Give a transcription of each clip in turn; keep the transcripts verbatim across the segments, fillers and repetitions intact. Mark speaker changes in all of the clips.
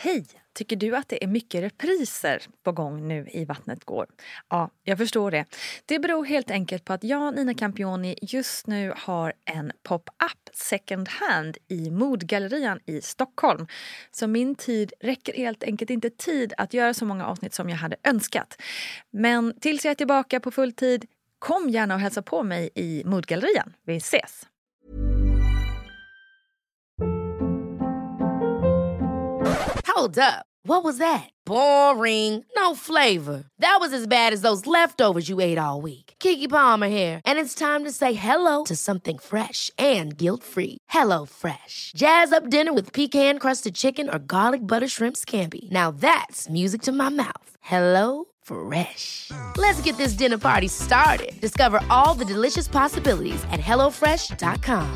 Speaker 1: Hej! Tycker du att det är mycket repriser på gång nu i Vattnet går? Ja, jag förstår det. Det beror helt enkelt på att jag, Nina Campioni, just nu har en pop-up second hand i Modgallerian i Stockholm. Så min tid räcker helt enkelt inte tid att göra så många avsnitt som jag hade önskat. Men tills jag är tillbaka på full tid, kom gärna och hälsa på mig i Modgallerian. Vi ses!
Speaker 2: Hold up. What was that? Boring. No flavor. That was as bad as those leftovers you ate all week. Keke Palmer here, and it's time to say hello to something fresh and guilt-free. Hello Fresh. Jazz up dinner with pecan-crusted chicken or garlic butter shrimp scampi. Now that's music to my mouth. Hello Fresh. Let's get this dinner party started. Discover all the delicious possibilities at hello fresh dot com.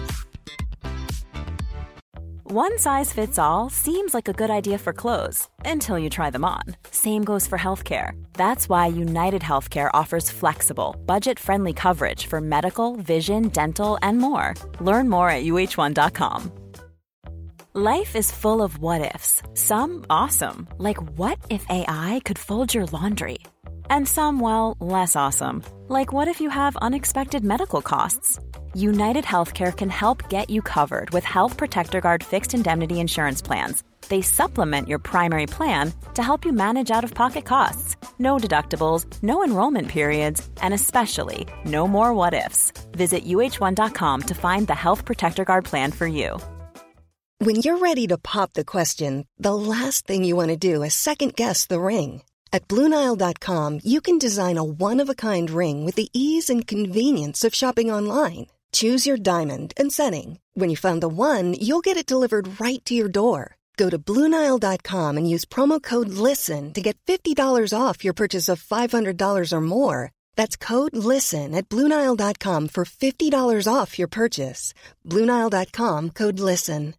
Speaker 3: One size fits all seems like a good idea for clothes until you try them on. Same goes for healthcare. That's why United Healthcare offers flexible, budget-friendly coverage for medical, vision, dental, and more. Learn more at U H one dot com. Life is full of what-ifs. Some awesome, like what if A I could fold your laundry? And some, well, less awesome, like what if you have unexpected medical costs? United Healthcare can help get you covered with Health Protector Guard fixed indemnity insurance plans. They supplement your primary plan to help you manage out-of-pocket costs. No deductibles, no enrollment periods, and especially no more what-ifs. Visit U H one dot com to find the Health Protector Guard plan for you.
Speaker 4: When you're ready to pop the question, the last thing you want to do is second-guess the ring. At Blue Nile dot com, you can design a one-of-a-kind ring with the ease and convenience of shopping online. Choose your diamond and setting. When you find the one, you'll get it delivered right to your door. Go to Blue Nile dot com and use promo code LISTEN to get fifty dollars off your purchase of five hundred dollars or more. That's code LISTEN at Blue Nile dot com for fifty dollars off your purchase. Blue Nile dot com, code LISTEN.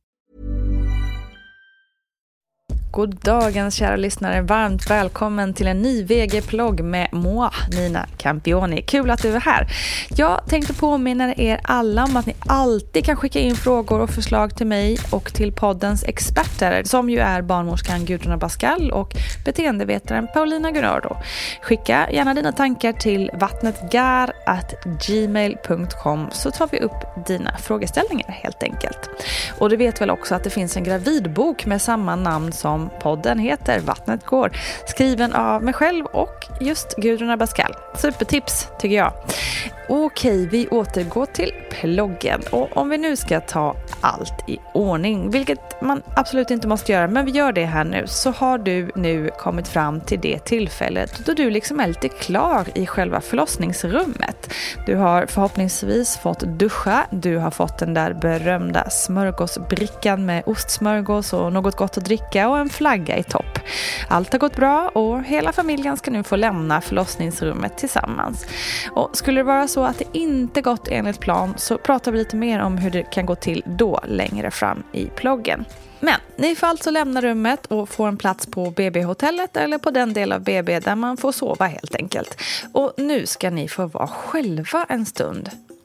Speaker 1: God dagens kära lyssnare, varmt välkommen till en ny V G-plogg med moi, Nina Campioni. Kul att du är här. Jag tänkte påminna er alla om att ni alltid kan skicka in frågor och förslag till mig och till poddens experter, som ju är barnmorskan Gudrun Abascal och beteendevetaren Paulina Gunnardo. Skicka gärna dina tankar till vattnetgar at gmail dot com så tar vi upp dina frågeställningar helt enkelt. Och du vet väl också att det finns en gravidbok med samma namn som podden heter, Vattnet går, skriven av mig själv och just Gudrun Abascal. Supertips tycker jag. Okej, vi återgår till ploggen. Och om vi nu ska ta allt i ordning, vilket man absolut inte måste göra, men vi gör det här nu, så har du nu kommit fram till det tillfället då du liksom är lite klar i själva förlossningsrummet. Du har förhoppningsvis fått duscha, du har fått den där berömda smörgåsbrickan med ostsmörgås och något gott att dricka och en flagga i topp. Allt har gått bra och hela familjen ska nu få lämna förlossningsrummet tillsammans. Och skulle det vara så att det inte gått enligt plan, så pratar vi lite mer om hur det kan gå till då längre fram i ploggen. Men ni får alltså lämna rummet och få en plats på B B-hotellet eller på den del av B B där man får sova helt enkelt. Och nu ska ni få vara själva en stund.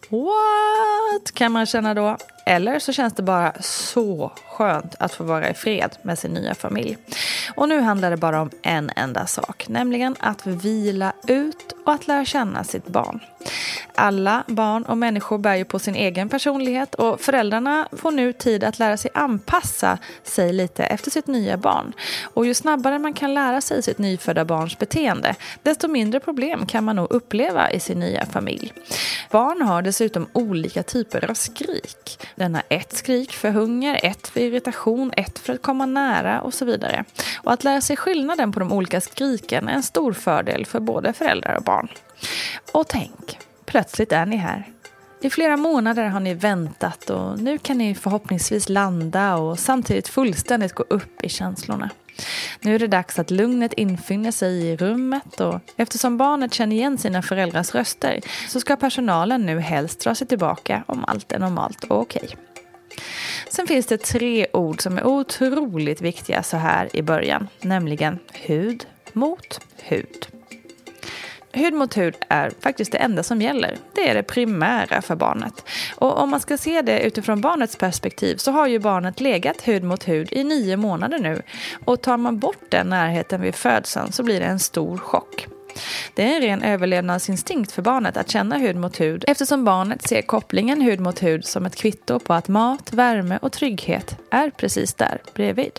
Speaker 1: What? Kan man känna då? Eller så känns det bara så skönt att få vara i fred med sin nya familj. Och nu handlar det bara om en enda sak, nämligen att vila ut och att lära känna sitt barn. Alla barn och människor bär ju på sin egen personlighet och föräldrarna får nu tid att lära sig anpassa sig lite efter sitt nya barn. Och ju snabbare man kan lära sig sitt nyfödda barns beteende, desto mindre problem kan man nog uppleva i sin nya familj. Barn har dessutom olika typer av skrik. Den har ett skrik för hunger, ett för irritation, ett för att komma nära och så vidare. Och att lära sig skillnaden på de olika skriken är en stor fördel för både föräldrar och barn. Och tänk, plötsligt är ni här. I flera månader har ni väntat och nu kan ni förhoppningsvis landa och samtidigt fullständigt gå upp i känslorna. Nu är det dags att lugnet infinner sig i rummet och eftersom barnet känner igen sina föräldrars röster så ska personalen nu helst dra sig tillbaka om allt är normalt och okej. Sen finns det tre ord som är otroligt viktiga så här i början, nämligen hud mot hud. hud mot hud är faktiskt det enda som gäller. Det är det primära för barnet. Och om man ska se det utifrån barnets perspektiv så har ju barnet legat hud mot hud i nio månader nu. Och tar man bort den närheten vid födseln så blir det en stor chock. Det är en ren överlevnadsinstinkt för barnet att känna hud mot hud eftersom barnet ser kopplingen hud mot hud som ett kvitto på att mat, värme och trygghet är precis där bredvid.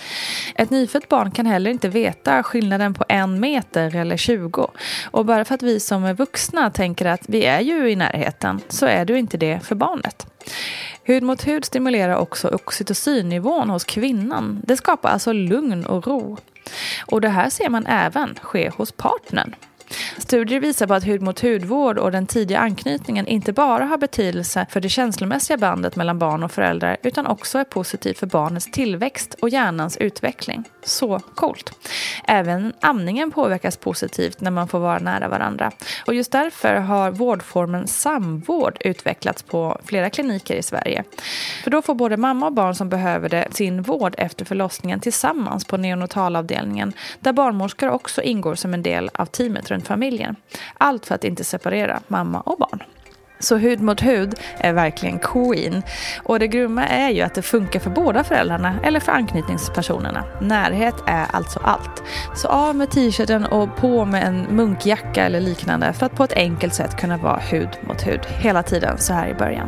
Speaker 1: Ett nyfött barn kan heller inte veta skillnaden på en meter eller tjugo. Och bara för att vi som är vuxna tänker att vi är ju i närheten så är det ju inte det för barnet. Hud mot hud stimulerar också oxytocinnivån hos kvinnan. Det skapar alltså lugn och ro. Och det här ser man även ske hos partnern. Studier visar på att hud mot hudvård och den tidiga anknytningen inte bara har betydelse för det känslomässiga bandet mellan barn och föräldrar utan också är positivt för barnets tillväxt och hjärnans utveckling. Så coolt. Även amningen påverkas positivt när man får vara nära varandra. Och just därför har vårdformen samvård utvecklats på flera kliniker i Sverige. För då får både mamma och barn som behöver det sin vård efter förlossningen tillsammans på neonatalavdelningen där barnmorskor också ingår som en del av teamet runt familjen. Allt för att inte separera mamma och barn. Så hud mot hud är verkligen queen. Och det grumma är ju att det funkar för båda föräldrarna eller för anknytningspersonerna. Närhet är alltså allt. Så av med t-shirten och på med en munkjacka eller liknande för att på ett enkelt sätt kunna vara hud mot hud hela tiden så här i början.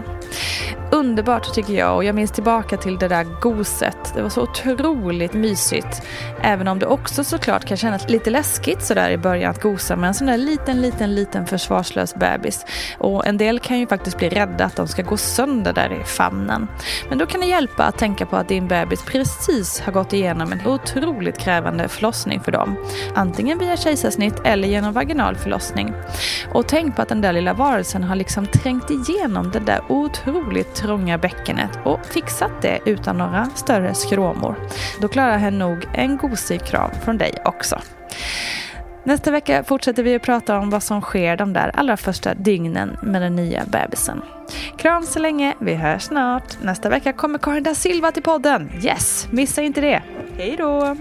Speaker 1: Underbart tycker jag och jag minns tillbaka till det där goset. Det var så otroligt mysigt. Även om det också såklart kan kännas lite läskigt så där i början att gosa med en sån där liten, liten, liten försvarslös bebis. Och en del kan ju faktiskt bli rädda att de ska gå sönder där i famnen. Men då kan det hjälpa att tänka på att din bebis precis har gått igenom en otroligt krävande förlossning för dem. Antingen via kejsarsnitt eller genom vaginal förlossning. Och tänk på att den där lilla varelsen har liksom trängt igenom det där otroligt trånga bäckenet och fixat det utan några större skråmor. Då klarar hen nog en gosig kram från dig också. Nästa vecka fortsätter vi att prata om vad som sker de där allra första dygnen med den nya bebisen. Kram så länge, vi hörs snart. Nästa vecka kommer Karin da Silva till podden. Yes, missa inte det. Hej då!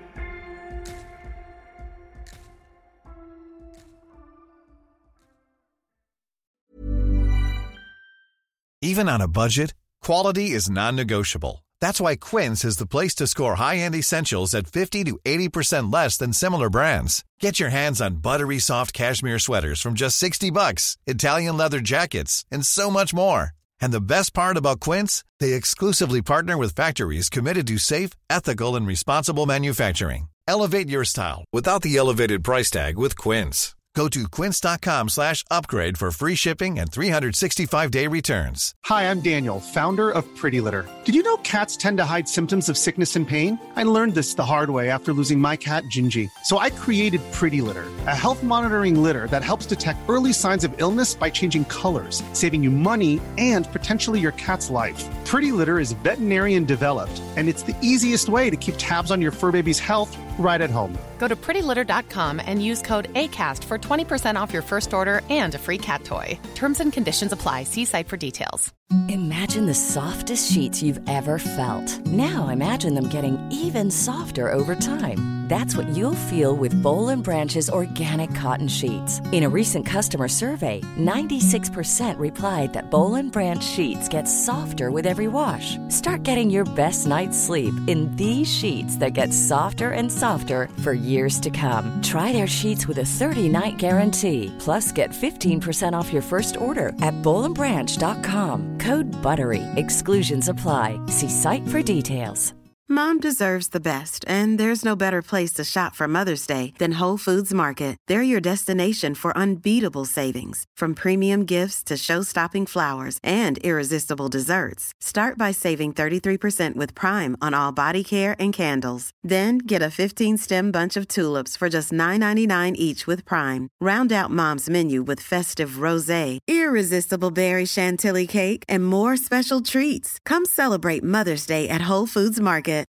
Speaker 5: Even on a budget, quality is non-negotiable. That's why Quince is the place to score high-end essentials at fifty to eighty percent less than similar brands. Get your hands on buttery soft cashmere sweaters from just sixty bucks, Italian leather jackets, and so much more. And the best part about Quince, they exclusively partner with factories committed to safe, ethical, and responsible manufacturing. Elevate your style without the elevated price tag with Quince. Go to quince.com slash upgrade for free shipping and three sixty-five day returns.
Speaker 6: Hi, I'm Daniel, founder of Pretty Litter. Did you know cats tend to hide symptoms of sickness and pain? I learned this the hard way after losing my cat, Gingy. So I created Pretty Litter, a health monitoring litter that helps detect early signs of illness by changing colors, saving you money and potentially your cat's life. Pretty Litter is veterinarian developed, and it's the easiest way to keep tabs on your fur baby's health right at home.
Speaker 7: Go to pretty litter dot com and use code ACAST for twenty percent off your first order and a free cat toy. Terms and conditions apply. See site for details.
Speaker 8: Imagine the softest sheets you've ever felt. Now imagine them getting even softer over time. That's what you'll feel with Boll and Branch's organic cotton sheets. In a recent customer survey, ninety-six percent replied that Boll and Branch sheets get softer with every wash. Start getting your best night's sleep in these sheets that get softer and softer for years to come. Try their sheets with a thirty-night guarantee. Plus, get fifteen percent off your first order at boll and branch dot com. Code BUTTERY. Exclusions apply. See site for details.
Speaker 9: Mom deserves the best, and there's no better place to shop for Mother's Day than Whole Foods Market. They're your destination for unbeatable savings, from premium gifts to show-stopping flowers and irresistible desserts. Start by saving thirty-three percent with Prime on all body care and candles. Then get a fifteen-stem bunch of tulips for just nine ninety-nine each with Prime. Round out Mom's menu with festive rosé, irresistible berry chantilly cake, and more special treats. Come celebrate Mother's Day at Whole Foods Market.